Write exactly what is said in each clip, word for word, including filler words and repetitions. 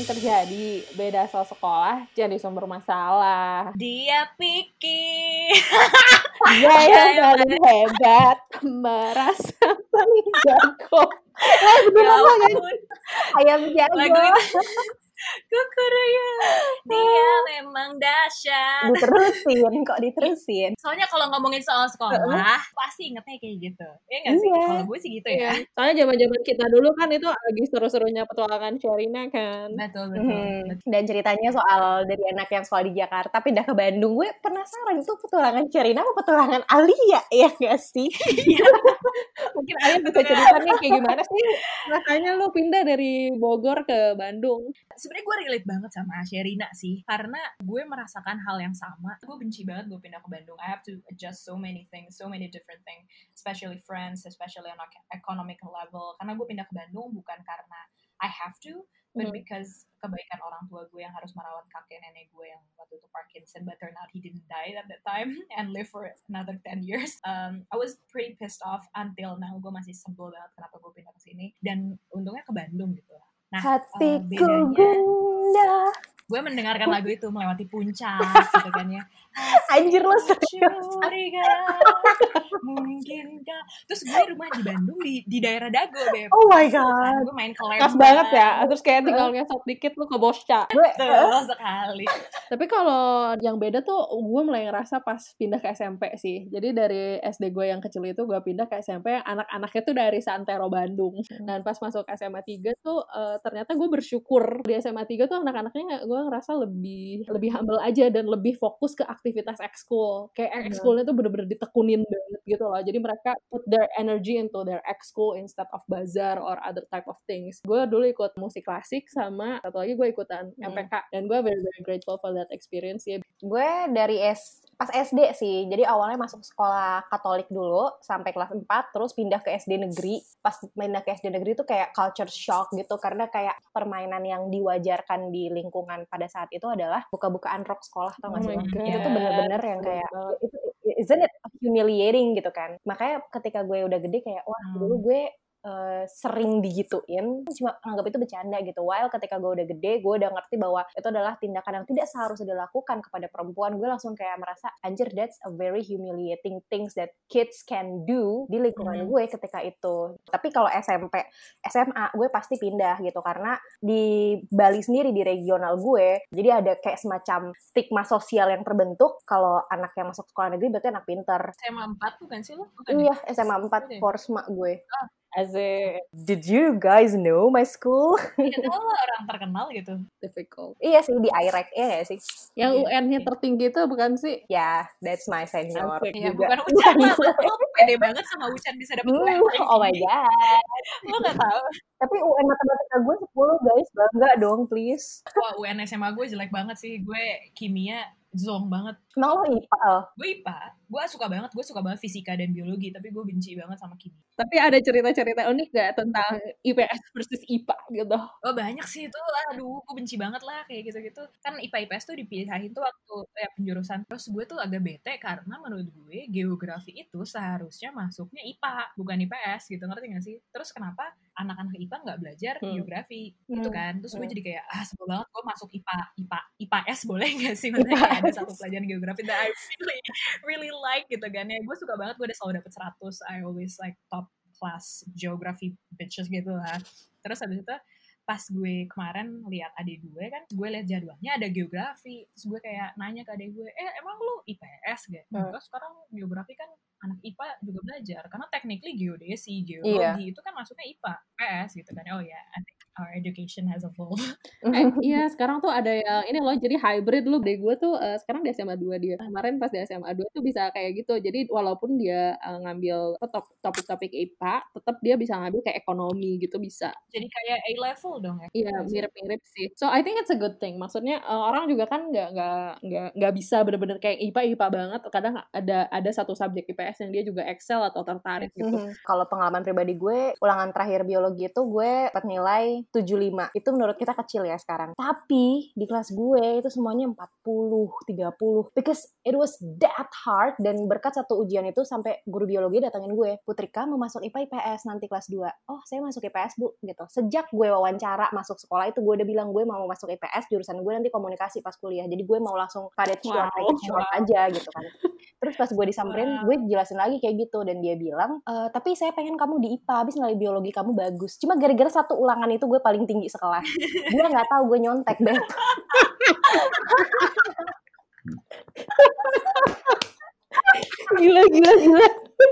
terjadi. Beda asal sekolah jadi sumber masalah. Dia pikir dia yang paling hebat, merasa paling jago. Eh beneran lo nyanyi ayam jago. Lagu itu Kukuruya, dia memang dahsyat. Diterusin, kok diterusin. Soalnya kalau ngomongin soal sekolah, pasti ingetnya kayak gitu. Ya nggak sih? Iya. Kalau gue sih gitu ya. Soalnya zaman-zaman kita dulu kan itu lagi seru-serunya petualangan Sherina kan. Betul, betul. Hmm. betul. Dan ceritanya soal dari anak yang sekolah di Jakarta pindah ke Bandung. Gue penasaran itu petualangan Sherina apa petualangan Alia ya nggak sih? Mungkin Alia bisa cerita nih kayak gimana sih rasanya lu pindah dari Bogor ke Bandung. Sebenarnya gue relate banget sama Sherina sih, karena gue merasakan hal yang sama. Gue benci banget gue pindah ke Bandung. I have to adjust so many things, so many different things, especially friends, especially on economic level. Karena gue pindah ke Bandung bukan karena I have to, but Hmm. because kebaikan orang tua gue yang harus merawat kakek nenek gue yang waktu itu Parkinson, but turned out he didn't die at that time and live for another ten years. Um, I was pretty pissed off until now. Gue masih sebel banget kenapa gue pindah ke sini. Dan untungnya ke Bandung gitu. Nah, Hatiku uh, bedanya gundah. gue mendengarkan lagu itu melewati puncak gitu kan ya. Anjir lo serius. Curiga mungkinkah. Terus gue rumah di Bandung di di daerah Dago, Beb. Oh my Kan god. gue main ke Lembang. Pas banget ya. Terus kayak tinggal ngesot dikit lu ke Bosca. Gue Betul sekali. Tapi kalau yang beda tuh gue mulai ngerasa pas pindah ke S M P sih. Jadi dari S D gue yang kecil itu gue pindah ke S M P yang anak-anaknya tuh dari Santero Bandung. Dan pas masuk S M A tiga tuh uh, ternyata gue bersyukur di S M A tiga tuh anak-anaknya gue ngerasa lebih lebih humble aja dan lebih fokus ke aktivitas ekskul. Kayak ekskulnya tuh bener-bener ditekunin banget gitu loh. Jadi mereka put their energy into their ekskul instead of bazar or other type of things. Gue dulu ikut musik klasik sama satu lagi gue ikutan M P K dan gue very very grateful for that experience ya. gue dari S pas S D sih. Jadi awalnya masuk sekolah Katolik dulu sampai kelas empat, terus pindah ke S D negeri. Pas pindah ke S D negeri tuh kayak culture shock gitu karena kayak permainan yang diwajarkan di lingkungan pada saat itu adalah buka-bukaan rok sekolah, tau gak Oh sih? my God. Itu tuh bener-bener yang kayak Bener. itu isn't it humiliating gitu kan. Makanya ketika gue udah gede kayak wah dulu gue Uh, sering digituin, cuma anggap itu bercanda gitu. While ketika gue udah gede, gue udah ngerti bahwa itu adalah tindakan yang tidak seharusnya dilakukan kepada perempuan. Gue langsung kayak merasa, anjir, that's a very humiliating things that kids can do di lingkungan Hmm. gue ketika itu. Tapi kalau S M P, S M A, gue pasti pindah gitu. Karena di Bali sendiri, di regional gue, jadi ada kayak semacam stigma sosial yang terbentuk. Kalau anak yang masuk sekolah negeri berarti anak pinter. S M A empat bukan sih lo? Bukan Iya, ya? S M A empat, Udah. Forsma gue. Asik. Did you guys know my school? Itu lo orang terkenal gitu. Difficult. Iya sih, di I R E C, iya gak sih? Yang Iya. U N-nya tertinggi itu bukan sih? Ya, that's my senior Asik. Iya, juga. bukan Ucan lah. Lo pede banget sama Ucan bisa dapet U N. Hmm, oh my god. Lo gak tahu. Tapi U N matematika gue sepuluh guys, bangga dong please. Wah, U N S M A gue jelek banget sih. Gue kimia zong banget. Emang lo I P A? Al? Gue I P A. Gue suka banget. Gue suka banget fisika dan biologi. Tapi gue benci banget sama kimia. Tapi ada cerita-cerita unik gak tentang I P S versus I P A gitu? Oh banyak sih itu. Aduh, gue benci banget lah kayak gitu-gitu. Kan I P A I P S tuh dipisahin tuh waktu ya, penjurusan. Terus gue tuh agak bete karena menurut gue geografi itu seharusnya masuknya I P A, bukan I P S gitu. Ngerti gak sih? Terus kenapa anak-anak I P A nggak belajar Hmm. geografi Hmm. gitu kan? Terus gue Hmm. jadi kayak ah sebel banget gue masuk I P A, I P A, I P A S boleh gak sih? Maksudnya kayak ada satu pelajaran geografi that I really, really like gitu kan ya. Gue suka banget, gue udah selalu dapet seratus. I always like top class geography bitches gitu lah. Terus habis itu pas gue kemarin lihat adik gue kan, gue lihat jadwalnya ada geografi. Terus gue kayak nanya ke adik gue, eh emang lu I P S gak? Hmm. Enggak, sekarang geografi kan anak I P A juga belajar. Karena technically geodesi, geologi itu kan masuknya I P A, I P S gitu kan. Oh ya, yeah, I think our education has evolved. Eh, iya sekarang tuh ada yang ini loh, jadi hybrid lu. Dari gue tuh uh, sekarang di S M A dua dia. Kemarin pas di S M A dua tuh bisa kayak gitu. Jadi walaupun dia uh, ngambil top- topik-topik I P A, tetap dia bisa ngambil kayak ekonomi gitu bisa. Jadi kayak A-level dong ya. Iya mirip-mirip sih. So I think it's a good thing. Maksudnya uh, orang juga kan nggak nggak nggak nggak bisa bener-bener kayak I P A I P A banget. Kadang ada ada satu subjek I P S yang dia juga excel atau tertarik gitu. Mhm. Kalau pengalaman pribadi gue, ulangan terakhir biologi itu gue dapat nilai tujuh puluh lima. Itu menurut kita kecil ya sekarang. Tapi di kelas gue itu semuanya empat puluh, tiga puluh. Because it was that hard. Dan berkat satu ujian itu sampai guru biologi datangin gue, Putrika mau masuk I P A I P S nanti kelas dua. Oh, saya masuk I P S, Bu, gitu. Sejak gue wawancara masuk sekolah itu gue udah bilang gue mau masuk I P S, jurusan gue nanti komunikasi pas kuliah. Jadi gue mau langsung pada short, Wow. short aja gitu kan. Terus pas gue disamperin, gue jelasin lagi kayak gitu. Dan dia bilang, e, tapi saya pengen kamu di I P A, habis nilai biologi kamu bagus. Cuma gara-gara satu ulangan itu gue paling tinggi sekelas. Dia gak tahu gue nyontek deh. Gila, gila, gila.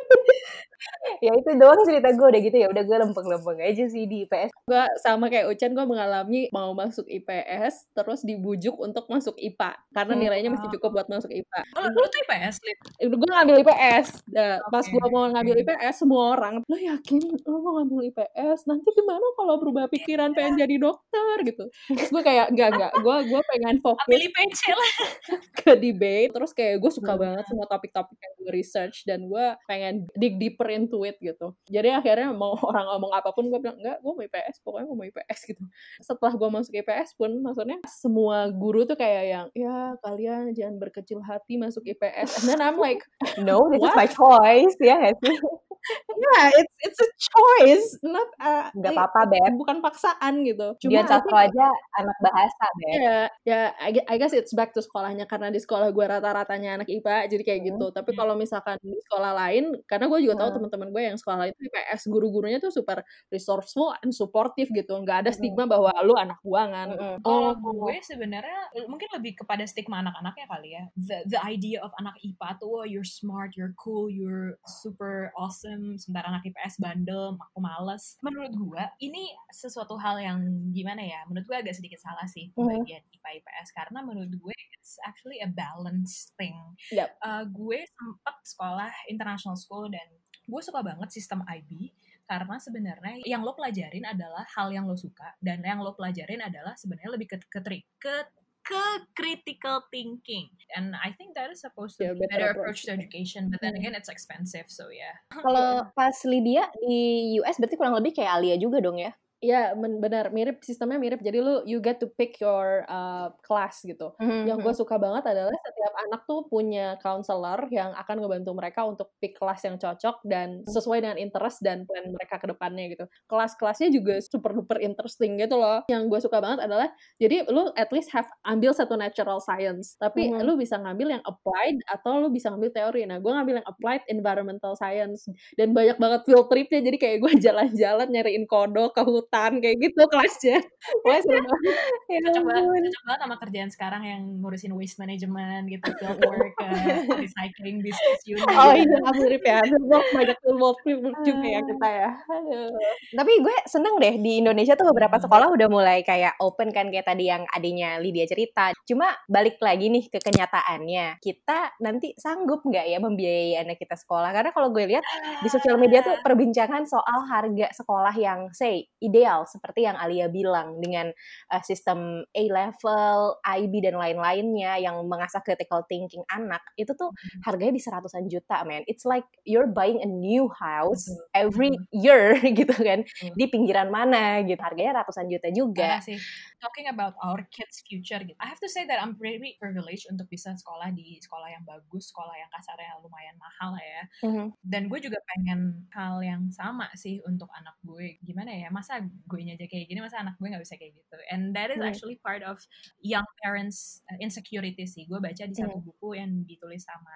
Ya itu doang cerita gue, udah gitu ya udah gue lempeng-lempeng aja sih di I P S. Gue sama kayak Ucan, gue mengalami mau masuk I P S terus dibujuk untuk masuk I P A karena Hmm. nilainya masih cukup buat masuk I P A. Oh, lu tuh I P S, Lip? Gue ngambil I P S. Nah, Oke, pas gue mau ngambil I P S, semua orang, lo yakin lo mau ngambil I P S? Nanti gimana kalau berubah pikiran pengen jadi dokter gitu? Terus gue kayak enggak enggak, gue gue pengen ambil fokus I P C lah. ke debate. Terus kayak gue suka Hmm. banget semua topik-topik yang gue research dan gue pengen dig deeper into it gitu. Jadi akhirnya mau orang ngomong apapun gue bilang enggak, gue mau I P S, pokoknya gue mau I P S gitu. Setelah gue masuk I P S pun, maksudnya semua guru tuh kayak yang, ya kalian jangan berkecil hati masuk I P S. And then I'm like, No, this is what? my choice, ya gak sih? Yeah, it's it's a choice, not uh, Gak like, apa-apa, Beb. bukan paksaan gitu. Cuma Dian I Sastro think, aja anak bahasa, Beb. ya, ya, I gue- I guess it's back to sekolahnya, karena di sekolah gue rata-ratanya anak I P A, jadi kayak Hmm. gitu. Tapi kalau misalkan di sekolah lain, karena gue juga tahu Hmm. teman-teman gue yang sekolah lain itu I P S, guru-gurunya tuh super resourceful and supportive gitu, nggak ada Hmm. stigma bahwa lu anak buangan. Mm-mm. Kalau Oh, gue sebenarnya mungkin lebih kepada stigma anak-anaknya kali ya. The the idea of anak I P A tuh, oh, you're smart, you're cool, you're super awesome. Sementara anak I P S bandel, aku males. Menurut gue ini sesuatu hal yang gimana ya? Menurut gue agak sedikit salah sih Mhm. bagian I P A I P S, karena menurut gue it's actually a balanced thing. Yep. Uh, gue sempat sekolah international school dan gue suka banget sistem I B. Karena sebenarnya yang lo pelajarin adalah hal yang lo suka, dan yang lo pelajarin adalah sebenarnya lebih ke ke ke, ke critical thinking. And I think that is supposed to Yeah, be a better better approach approach. to education, but then Hmm. again it's expensive, so yeah. Kalau pas Lydia di U S berarti kurang lebih kayak Alia juga dong ya? Iya, men- benar, mirip, sistemnya mirip. Jadi lu you get to pick your uh, class gitu. Yang gue suka banget adalah setiap anak tuh punya counselor yang akan ngebantu mereka untuk pick kelas yang cocok dan sesuai dengan interest dan plan mereka ke depannya gitu. Kelas-kelasnya juga super duper interesting gitu loh. Yang gue suka banget adalah, jadi lu at least have ambil satu natural science, tapi Mhm. lu bisa ngambil yang applied atau lu bisa ngambil teori. Nah, gue ngambil yang applied environmental science dan banyak banget field tripnya. Jadi kayak gue jalan-jalan nyariin kodok ke hutan kayak gitu kelasnya. Wah, seru banget. Ya Cocok banget, ampun. cocok banget sama kerjaan sekarang yang ngurusin waste management gitu, field work, uh, recycling business unit. Oh iya, mirip ya. Field banyak field work juga ya kita ya. Aduh. Tapi gue seneng deh di Indonesia tuh beberapa sekolah udah mulai kayak open kan, kayak tadi yang adiknya Lydia cerita. Cuma balik lagi nih ke kenyataannya, kita nanti sanggup nggak ya membiayai anak kita sekolah? Karena kalau gue lihat di sosial media tuh perbincangan soal harga sekolah yang say ideal seperti yang Alia bilang dengan uh, sistem A-level, I B dan lain-lainnya yang mengasah critical thinking anak, itu tuh harganya di seratusan juta, man. It's like you're buying a new house every year gitu kan, di pinggiran mana gitu, harganya ratusan juta juga. Parah sih. Talking about our kids' future gitu, I have to say that I'm very privileged untuk bisa sekolah di sekolah yang bagus, sekolah yang kasarnya lumayan mahal lah ya. Mhm. Dan gue juga pengen hal yang sama sih untuk anak gue. Gimana ya, masa gue aja kayak gini, masa anak gue gak bisa kayak gitu. And that is Hmm. actually part of young parents uh, insecurity sih. Gue baca di satu Hmm. buku yang ditulis sama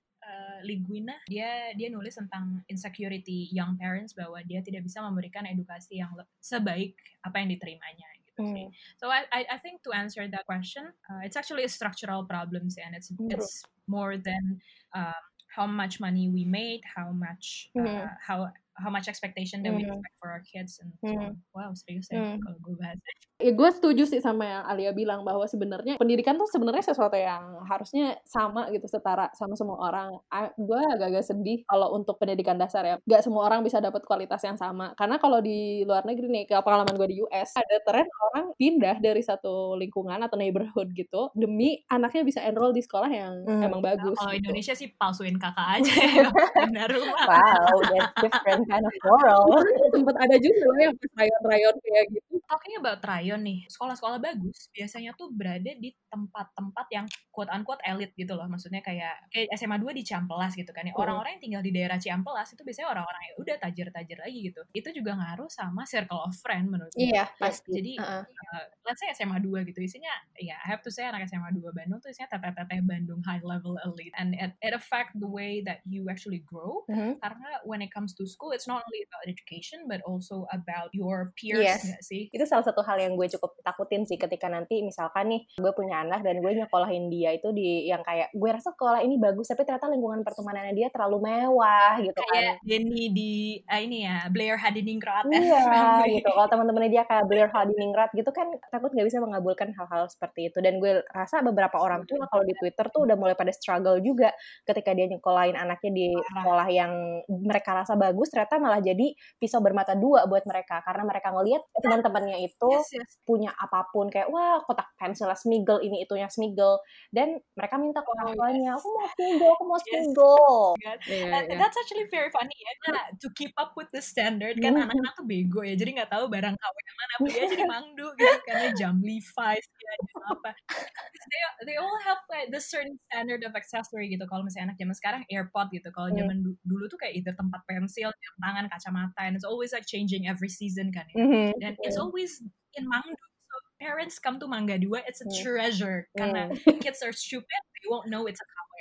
uh, Liguina. Dia dia nulis tentang insecurity young parents, bahwa dia tidak bisa memberikan edukasi yang le- sebaik apa yang diterimanya gitu sih. Hmm. So I I I think to answer that question, uh, it's actually a structural problem sih, and it's Hmm. it's more than um, how much money we made, how much uh, Hmm. how how much expectation that we Hmm. expect for our kids, and so Hmm. on. Wow, serius ya Hmm. kalau gue bahas. Ya, gue setuju sih sama yang Alia bilang bahwa sebenarnya pendidikan tuh sebenarnya sesuatu yang harusnya sama gitu, setara sama semua orang. A- gue agak-agak sedih kalau untuk pendidikan dasar ya, nggak semua orang bisa dapat kualitas yang sama. Karena kalau di luar negeri nih, kayak pengalaman gue di U S, ada tren orang pindah dari satu lingkungan atau neighborhood gitu demi anaknya bisa enroll di sekolah yang Hmm. emang bagus. Kalau gitu. Indonesia sih palsuin kakak aja ya, pindah rumah. Wow, that's different kind of moral. Sempet ada juga loh yang pas rayon-rayon kayak gitu. talking about Tryon nih, sekolah-sekolah bagus biasanya tuh berada di tempat-tempat yang quote-unquote elit gitu loh. Maksudnya kayak kayak S M A dua di Ciampelas gitu kan. Ya. Orang-orang yang tinggal di daerah Ciampelas itu biasanya orang-orang yang udah tajir-tajir lagi gitu. Itu juga ngaruh sama circle of friend menurut gue. Iya, pasti. Jadi, uh-uh. uh, let's say S M A dua gitu. Isinya, ya I have to say anak S M A dua Bandung tuh isinya teteh-teteh Bandung high level elite. And it, it affect the way that you actually grow. Mm-hmm. Karena when it comes to school, it's not only about education, but also about your peers, yes. Gak sih? Itu salah satu hal yang gue cukup takutin sih ketika nanti misalkan nih gue punya anak dan gue nyekolahin dia itu di yang kayak gue rasa sekolah ini bagus tapi ternyata lingkungan pertemanannya dia terlalu mewah gitu kayak kan. Denny di uh, ini ya Blair Hadiningrat. Iya gitu. Kalau teman-temannya dia kayak Blair Hadiningrat gitu kan takut nggak bisa mengabulkan hal-hal seperti itu. Dan gue rasa beberapa orang tua kalau di Twitter tuh udah mulai pada struggle juga ketika dia nyekolahin anaknya di sekolah yang mereka rasa bagus ternyata malah jadi pisau bermata dua buat mereka karena mereka ngelihat teman-temannya itu yes, yes. punya apapun kayak wah kotak pensilnya Smiggle ini itunya Smiggle dan mereka minta ke orang tuanya aku mau Smiggle aku mau Smiggle yes. yeah, yeah. That's actually very funny ya nah, to keep up with the standard kan mm-hmm. anak-anak tuh bego ya jadi nggak tahu barang K W yang mana beli aja di Mangdu gitu karena jam Levi's ya jam apa they, they all have like the certain standard of accessory gitu kalau misalnya anak zaman sekarang AirPod gitu kalau zaman mm. dulu tuh kayak either tempat pensil jam tangan kacamata and it's always like changing every season kan ya mm-hmm. dan yeah. it's always in Mangdu. So parents come to Mangga Dua, it's a mm. treasure. Mm. Karena kids are stupid, they won't know it's a K W.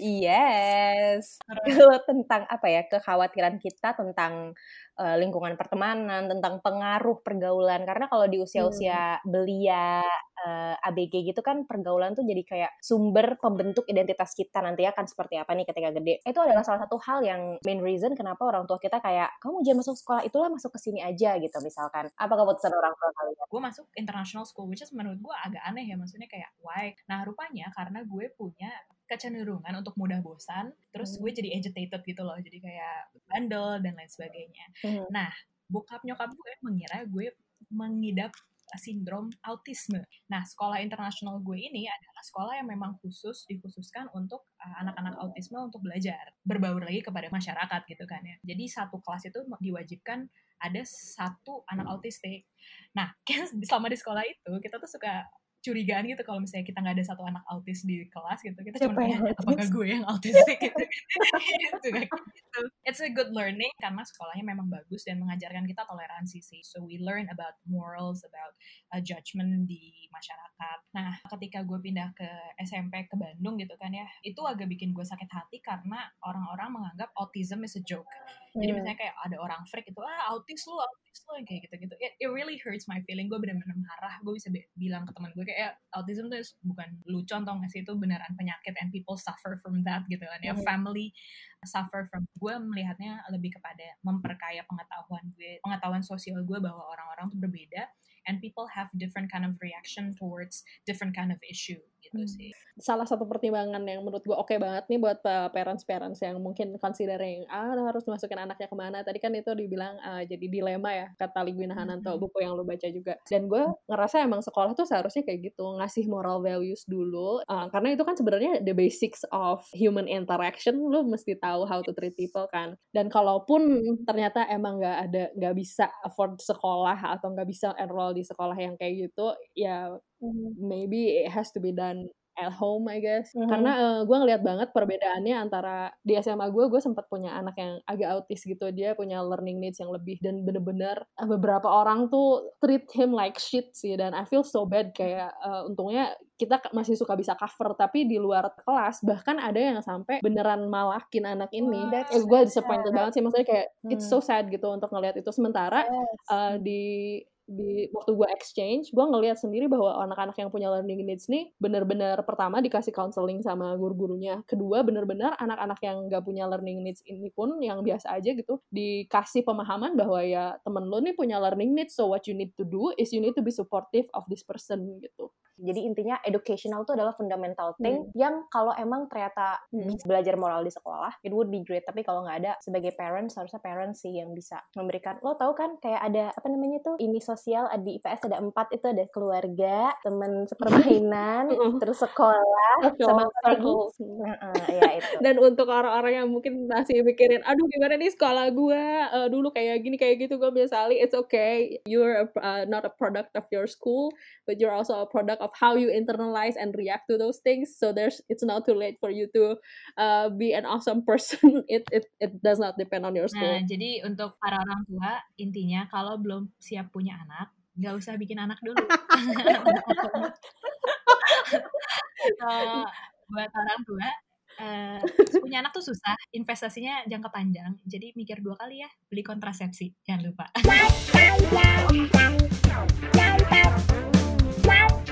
Yes. Kalau tentang apa ya kekhawatiran kita tentang uh, lingkungan pertemanan, tentang pengaruh pergaulan. Karena kalau di usia-usia hmm. belia, uh, A B G gitu kan pergaulan tuh jadi kayak sumber pembentuk identitas kita nanti akan seperti apa nih ketika gede. Itu adalah salah satu hal yang main reason kenapa orang tua kita kayak kamu jangan masuk sekolah itulah masuk ke sini aja gitu misalkan. Apa keputusan orang tua kalian? Gue masuk international school, which is menurut gue agak aneh ya. Maksudnya kayak why? Nah rupanya karena gue punya kecenderungan untuk mudah bosan, terus gue jadi agitated gitu loh, jadi kayak bandel dan lain sebagainya. Hmm. Nah, bokap nyokap gue mengira gue mengidap sindrom autisme. Nah, sekolah internasional gue ini adalah sekolah yang memang khusus dikhususkan untuk uh, anak-anak autisme untuk belajar, berbaur lagi kepada masyarakat gitu kan ya. Jadi satu kelas itu diwajibkan ada satu anak autistik. Nah, selama di sekolah itu kita tuh suka curigaan gitu kalau misalnya kita nggak ada satu anak autis di kelas gitu kita cuma tanya apakah gue yang autistik gitu gitu gitu. It's a good learning karena sekolahnya memang bagus dan mengajarkan kita toleransi sih. So we learn about morals, about uh, judgment di masyarakat. Nah ketika gue pindah ke S M P ke Bandung gitu kan ya itu agak bikin gue sakit hati karena orang-orang menganggap autism is a joke. Jadi hmm. misalnya kayak ada orang freak itu ah autis lu autis lu kayak gitu-gitu. It, it really hurts my feeling. Gue benar-benar marah. Gue bisa be- bilang ke teman gue kayak autism tuh bukan lucu atau nggak sih itu beneran penyakit and people suffer from that gitu kan ya. Hmm. Family suffer from. Gue melihatnya lebih kepada memperkaya pengetahuan gue, pengetahuan sosial gue bahwa orang-orang tuh berbeda and people have different kind of reaction towards different kind of issue gitu sih. Salah satu pertimbangan yang menurut gue oke okay banget nih buat parents-parents yang mungkin considering ah harus masukin anaknya kemana. Tadi kan itu dibilang uh, jadi dilema ya kata Ligwina Hananto mm-hmm. buku yang lu baca juga. Dan gue ngerasa emang sekolah tuh seharusnya kayak gitu ngasih moral values dulu uh, karena itu kan sebenarnya the basics of human interaction. Lu mesti tahu how to treat people kan. Dan kalaupun ternyata emang nggak ada nggak bisa afford sekolah atau nggak bisa enroll di sekolah yang kayak gitu ya maybe it has to be done at home I guess. Mm-hmm. Karena uh, gue ngeliat banget perbedaannya antara di S M A gue, gue sempat punya anak yang agak autis gitu, dia punya learning needs yang lebih dan bener-bener uh, beberapa orang tuh treat him like shit sih dan I feel so bad kayak uh, untungnya kita masih suka bisa cover tapi di luar kelas bahkan ada yang sampai beneran malakin anak ini. Wow, eh, gue disappointed banget sih maksudnya kayak hmm. it's so sad gitu untuk ngeliat itu sementara yes. uh, di di waktu gue exchange, gue ngelihat sendiri bahwa anak-anak yang punya learning needs nih benar-benar pertama dikasih counseling sama guru-gurunya, kedua benar-benar anak-anak yang gak punya learning needs ini pun yang biasa aja gitu dikasih pemahaman bahwa ya temen lo nih punya learning needs, so what you need to do is you need to be supportive of this person gitu. Jadi intinya educational itu adalah fundamental thing hmm. yang kalau emang ternyata hmm. bisa belajar moral di sekolah, it would be great. Tapi kalau nggak ada, sebagai parents harusnya parents sih yang bisa memberikan. Lo tau kan kayak ada apa namanya tuh ini sosial di I P S ada empat, itu ada keluarga, teman sepermainan, terus sekolah, sama apa lagi? Uh, ya itu. Dan untuk orang-orang yang mungkin masih mikirin, aduh gimana nih sekolah gue uh, dulu kayak gini kayak gitu, gue biasali it's okay, you're a, uh, not a product of your school, but you're also a product of how you internalize and react to those things. So there's it's not too late for you to uh, be an awesome person. It it it does not depend on your school. Nah, jadi untuk para orang tua, intinya kalau belum siap punya anak, nggak usah bikin anak dulu. uh, buat orang tua, uh, punya anak tuh susah, investasinya jangka panjang, jadi mikir dua kali ya, beli kontrasepsi, jangan lupa.